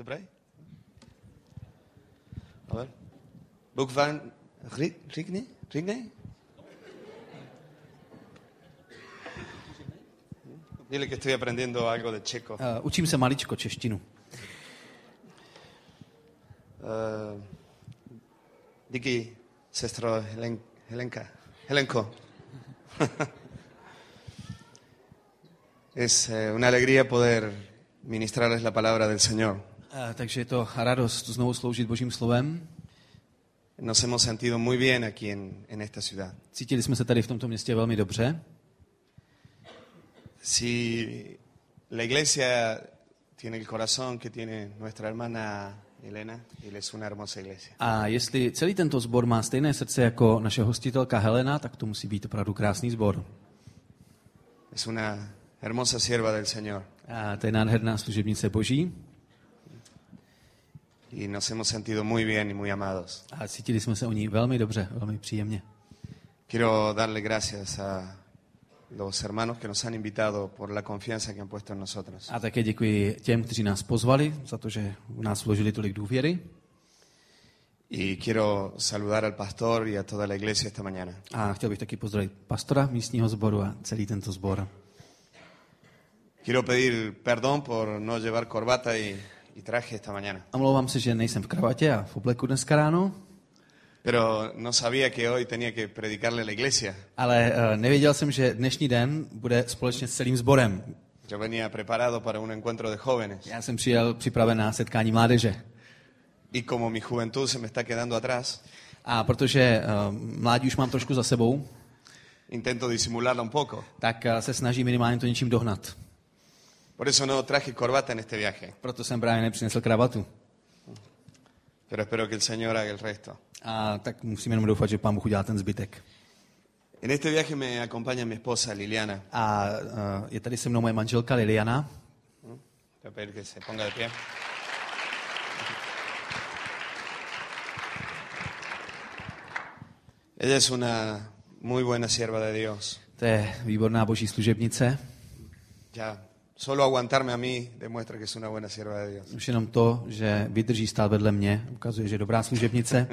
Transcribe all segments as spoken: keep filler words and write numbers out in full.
Dobré? A ver. Book van Rigne? Rigne? Dile que estoy aprendiendo algo de checo. Uh, učím se maličko češtinu. Uh, díky, sestro Helen, Helenka. Helenko. Es eh, una alegría poder ministrarles la palabra del Señor. Uh, takže je to radost znovu sloužit Božím slovem. Nos hemos sentido muy bien aquí en, en esta ciudad. Cítili jsme se tady v tomto městě velmi dobře. Si la iglesia tiene el corazón que tiene nuestra hermana Elena, y es una hermosa iglesia. A jestli celý tento sbor má stejné srdce jako naše hostitelka Helena, tak to musí být opravdu krásný sbor. Es una hermosa sierva del Señor. A to je nádherná služebnice Boží. Y nos hemos sentido muy bien y muy amados. A cítili jsme se o ní velmi dobře, velmi příjemně. Quiero darle gracias a los hermanos que nos han invitado por la confianza que han puesto en nosotros. A také děkuji těm, kteří nás pozvali, za to, že v nás vložili tolik důvěry. Y quiero saludar al pastor y a toda la iglesia esta mañana. A chtěl bych taky pozdravit pastora místního sboru a celý tento sbor. Quiero pedir perdón por no llevar corbata y, y traje esta mañana. Omlouvám se, že nejsem v kravatě a v obleku dneska ráno. Pero no sabía que hoy tenía que predicarle a la iglesia. Ale uh, nevěděl jsem, že dnešní den bude společně s celým sborem. Yo venía preparado para un encuentro de jóvenes. Já jsem přijel připraven na setkání mládeže. Y como mi juventud se me está quedando atrás, A protože uh, mládí už mám trošku za sebou, intento disimularla un poco. tak uh, se snažím minimálně to něčím dohnat. Por eso no traje corbata en este viaje. Proto jsem právě nepřinesl kravatu. Pero espero que el Señor haga el resto. A tak musím jenom doufat, že Pán Bůh udělá ten zbytek. En este viaje me acompaña mi esposa Liliana. A uh, je tady se mnou moje manželka Liliana. Voy a pedir que se ponga de pie. Ella es una muy buena sierva de Dios. To je výborná boží služebnice. Ya, solo aguantarme a mí demuestra que es una buena sierva de Dios. Už jenom to, že vydrží stát vedle mě, ukazuje, že je dobrá služebnice.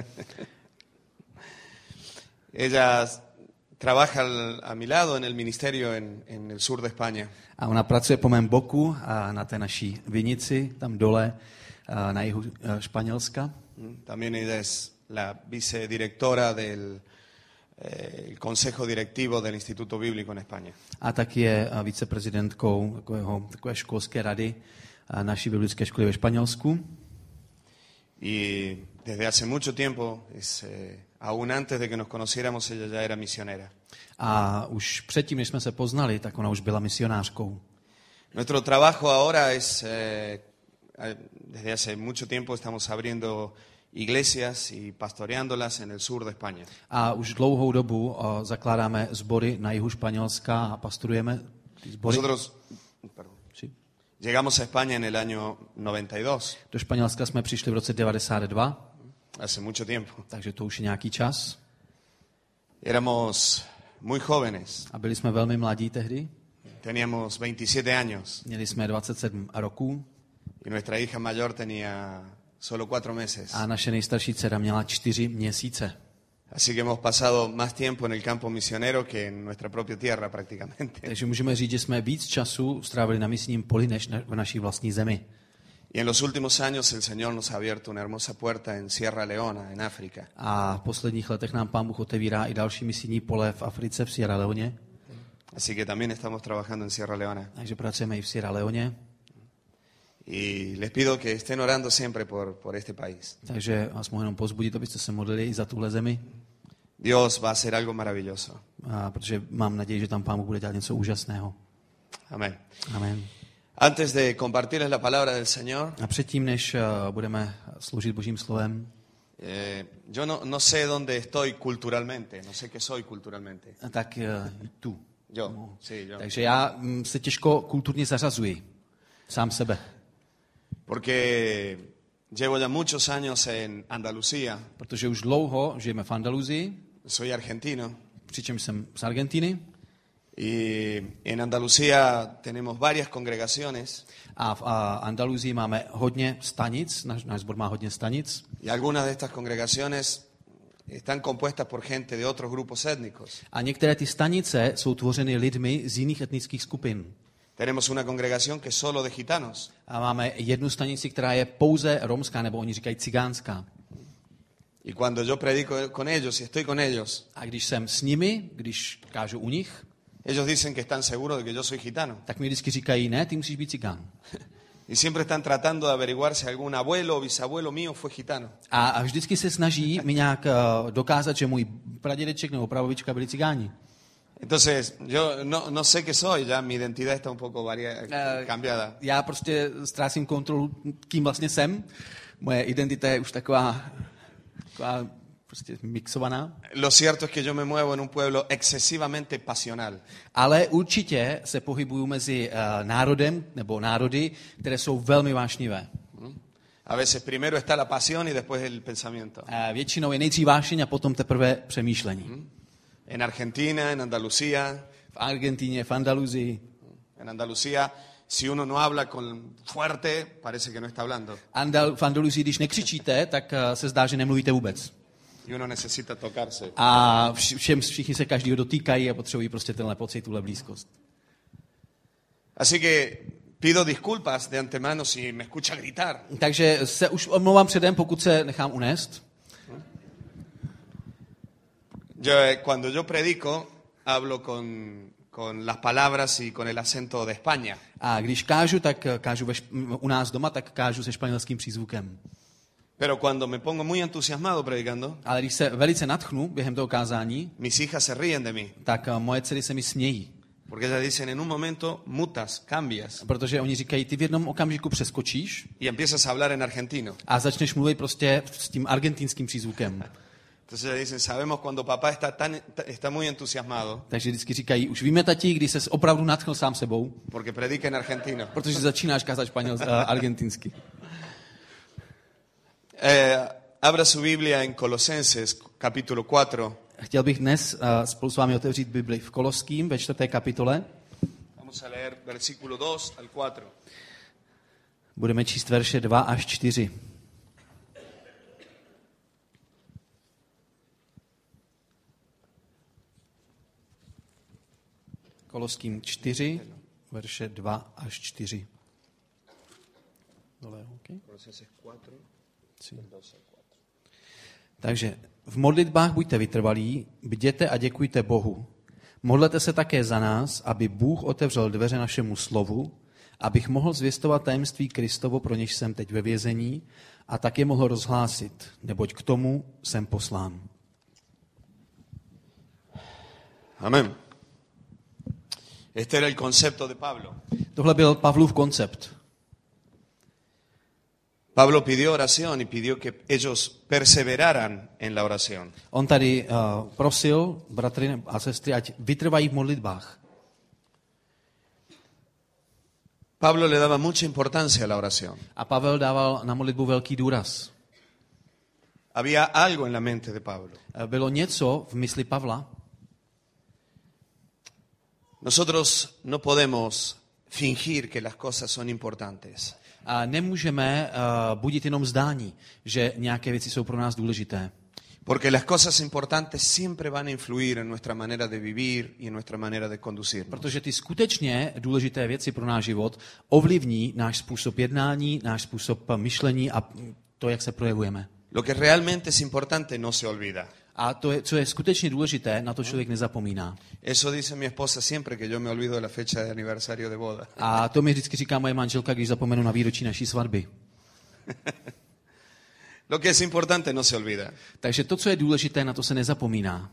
Ella trabaja a mi lado en el ministerio en, en el sur de España. A ona pracuje po mém boku a na té naší vinici, tam dole, na jihu Španělska. También ella es la vicedirectora del eh, el consejo directivo del Instituto Bíblico en España. A tak je viceprezidentkou takového, takové školské rady naší biblické školy ve Španělsku. Y desde hace mucho tiempo, es, eh, aún antes de que nos conociéramos, ella ya era misionera. A už předtím, než jsme se poznali, tak ona už byla misionářkou. Nuestro trabajo ahora es, eh, desde hace mucho tiempo estamos abriendo iglesias y pastoreándolas en el sur de España. A už dlouhou dobu uh, zakládáme sbory na jihu Španělska a pastorujeme ty sbory. Nosotros perdón, Sí. llegamos a España en el año noventa y dos. Do Španělska jsme přišli v roce devadesát dva, Hace mucho tiempo. takže to už je nějaký čas. Éramos muy jóvenes. A byli jsme velmi mladí tehdy. Teníamos veintisiete años Měli jsme dvacet sedm roků y nuestra hija mayor tenía solo cuatro meses. a naše nejstarší dcera měla čtyři měsíce. Así que hemos pasado más tiempo en el campo misionero que en nuestra propia tierra prácticamente. Takže můžeme říct, že jsme víc času strávili na misijním poli než na, v naší vlastní zemi. Y en los últimos años el Señor nos ha abierto una hermosa puerta en Sierra Leona, en África. A v posledních letech nám Pán Bůh otevírá i další misijní pole v Africe, v Sierra Leone. Así que también estamos trabajando en Sierra Leona. Takže pracujeme i v Sierra Leone. Y les pido que estén orando siempre por, por este país. Takže vás mohu jenom pozbudit, abyste se modlili i za tuhle zemi. Dios va a hacer algo maravilloso. A protože mám naději, že tam Pán Bůh bude dělat něco úžasného. Amén. Amen. Antes de compartirles la palabra del Señor, A předtím, než uh, budeme sloužit Božím slovem, eh, yo no, no sé dónde estoy culturalmente, no sé qué soy culturalmente. tak uh, tu. Yo, sí, yo. Takže já mm, se těžko kulturně zařazuji. Sám sebe. Porque llevo ya muchos años en Andalucía, Protože už dlouho žijeme v Andaluzii, soy argentino, přičemž jsem z Argentiny. Y en Andalucía tenemos varias congregaciones. A v a Andaluzii máme hodně stanic, náš, náš sbor má hodně stanic. Y algunas de estas congregaciones están compuestas por gente de otros grupos étnicos. A některé ty stanice jsou tvořeny lidmi z jiných etnických skupin. Tenemos una congregación que es solo de gitanos. A máme jednu stanici, která je pouze romská, nebo oni říkají cigánská. Y cuando yo predico con ellos y estoy con ellos, A když jsem s nimi, když kážu u nich, ellos dicen que están seguros de que yo soy gitano. tak mi vždycky říkají, ne, ty musíš být cigán. Y siempre están tratando de averiguar si algún abuelo o bisabuelo mío fue gitano. A, a vždycky se snaží mi nějak uh, dokázat, že můj pradědeček nebo prababička byli cigáni. Entonces, yo no, no sé qué soy, ya mi identidad está un poco varia- Eh, cambiada. Já prostě ztrácím kontrolu, kým vlastně jsem. Moje identita je už taková, taková prostě mixovaná. Lo cierto es que yo me muevo en un pueblo excesivamente pasional. Ale určitě se pohybuju mezi uh, národem nebo národy, které jsou velmi vášnivé. A veces primero está la pasión y después el pensamiento. Uh, většinou je nejdřív vášeň a potom teprve přemýšlení. En Argentina, en Andalucía, V Argentíně, v Andaluzii. en Andalucía, si uno no habla con fuerte, parece que no está hablando. Andal, v Andaluzii, když nekřičíte, tak uh, se zdá, že nemluvíte vůbec. Y uno necesita tocarse. A vš- všem, všichni se každýho dotýkají a potřebují prostě tenhle pocit, tuhle blízkost. Así que pido disculpas de antemano si me escucha gritar. Takže se už omlouvám předem, pokud se nechám unést. Yo, eh, cuando yo predico, hablo con, con las palabras y con el acento de España. A když kážu, tak eh, kážu ve, šp- u nás doma, tak kážu se španělským přízvukem. Pero cuando me pongo muy entusiasmado predicando, Ale když se velice nadchnu během toho kázání, mis hijas se ríen de mí. tak eh, moje dcery se mi smějí. Porque ellas dicen, en un momento mutas, cambias Protože oni říkají, ty v jednom okamžiku přeskočíš y empiezas a hablar en argentino. a začneš mluvit prostě s tím argentinským přízvukem. Entonces ellas dicen, sabemos cuando papá está, tan, está muy entusiasmado Takže vždycky říkají, už víme, tati, když ses opravdu nadchl sám sebou, porque predica en argentino. protože začínáš kázat španěl, uh, argentinsky. Eh, abra su Biblia en Colosenses, capítulo cuatro. Chtěl bych dnes uh, spolu s vámi otevřít Bibli v Koloským ve čtvrté kapitole. Vamos a leer versículo dos al cuatro. Budeme číst verše dva až čtyři. Koloským čtyři, verše dva až čtyři. Dole, okay. Colosenses cuatro, Sí. dos al cuatro. Takže v modlitbách buďte vytrvalí, bděte a děkujte Bohu. Modlete se také za nás, aby Bůh otevřel dveře našemu slovu, abych mohl zvěstovat tajemství Kristovo, pro něž jsem teď ve vězení, a tak je mohl rozhlásit, neboť k tomu jsem poslán. Amén. Este era el concepto de Pablo. Tohle byl Pavlův koncept. Pablo pidió oración y pidió que ellos perseveraran en la oración. On tady uh, prosil bratry a sestry, ať vytrvají v modlitbách. Pablo le daba mucha importancia a la oración. A Pavel dával na modlitbu velký důraz. Había algo en la mente de Pablo. Uh, Bylo něco v mysli Pavla. Nosotros no podemos fingir que las cosas son importantes. A nemůžeme uh, budit jenom zdání, že nějaké věci jsou pro nás důležité. Porque las cosas importantes siempre van a influir en nuestra manera de vivir y en nuestra manera de conducirnos. Protože ty skutečně důležité věci pro náš život ovlivní náš způsob jednání, náš způsob myšlení a to, jak se projevujeme. Lo que realmente es importante no se olvida. A to, je, co je skutečně důležité, na to člověk nezapomíná. Eso dice mi esposa siempre que yo me olvido de la fecha de aniversario de boda. A to mi vždycky říká moje manželka, když zapomenu na výročí naší svatby. Lo que es importante no se olvida. Takže to, co je důležité, na to se nezapomíná.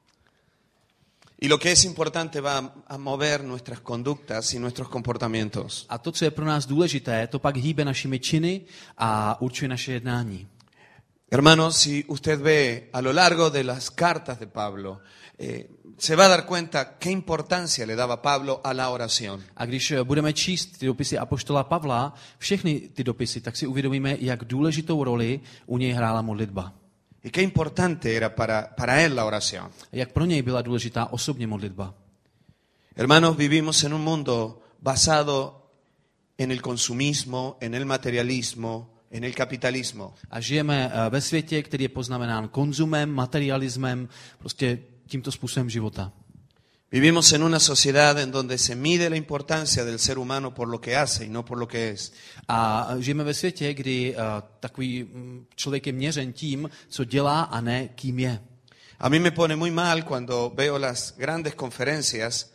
Y lo que es importante va a mover nuestras conductas y nuestros comportamientos. A to, co je pro nás důležité, to pak hýbe našimi činy a určuje naše jednání. Hermanos, si usted ve a lo largo de las cartas de Pablo, eh, se va a dar cuenta qué importancia le daba Pablo a la oración. A když budeme číst ty dopisy apoštola Pavla, všechny ty dopisy, tak si uvědomíme, jak důležitou roli u něj hrála modlitba. Y qué importante era para, para él la oración. Jak pro něj byla důležitá osobně modlitba. Hermanos, vivimos en un mundo basado en el consumismo, en el materialismo, en el capitalismo. A žijeme eh, ve světě, který je poznamenán konzumem, materialismem, prostě tímto způsobem života. Vivimos en una sociedad en donde se mide la importancia del ser humano por lo que hace y no por lo que es. A žijeme ve světě, kdy uh, takový mm, člověk je měřen tím, co dělá a ne kým je. A mí me pone muy mal cuando veo las grandes conferencias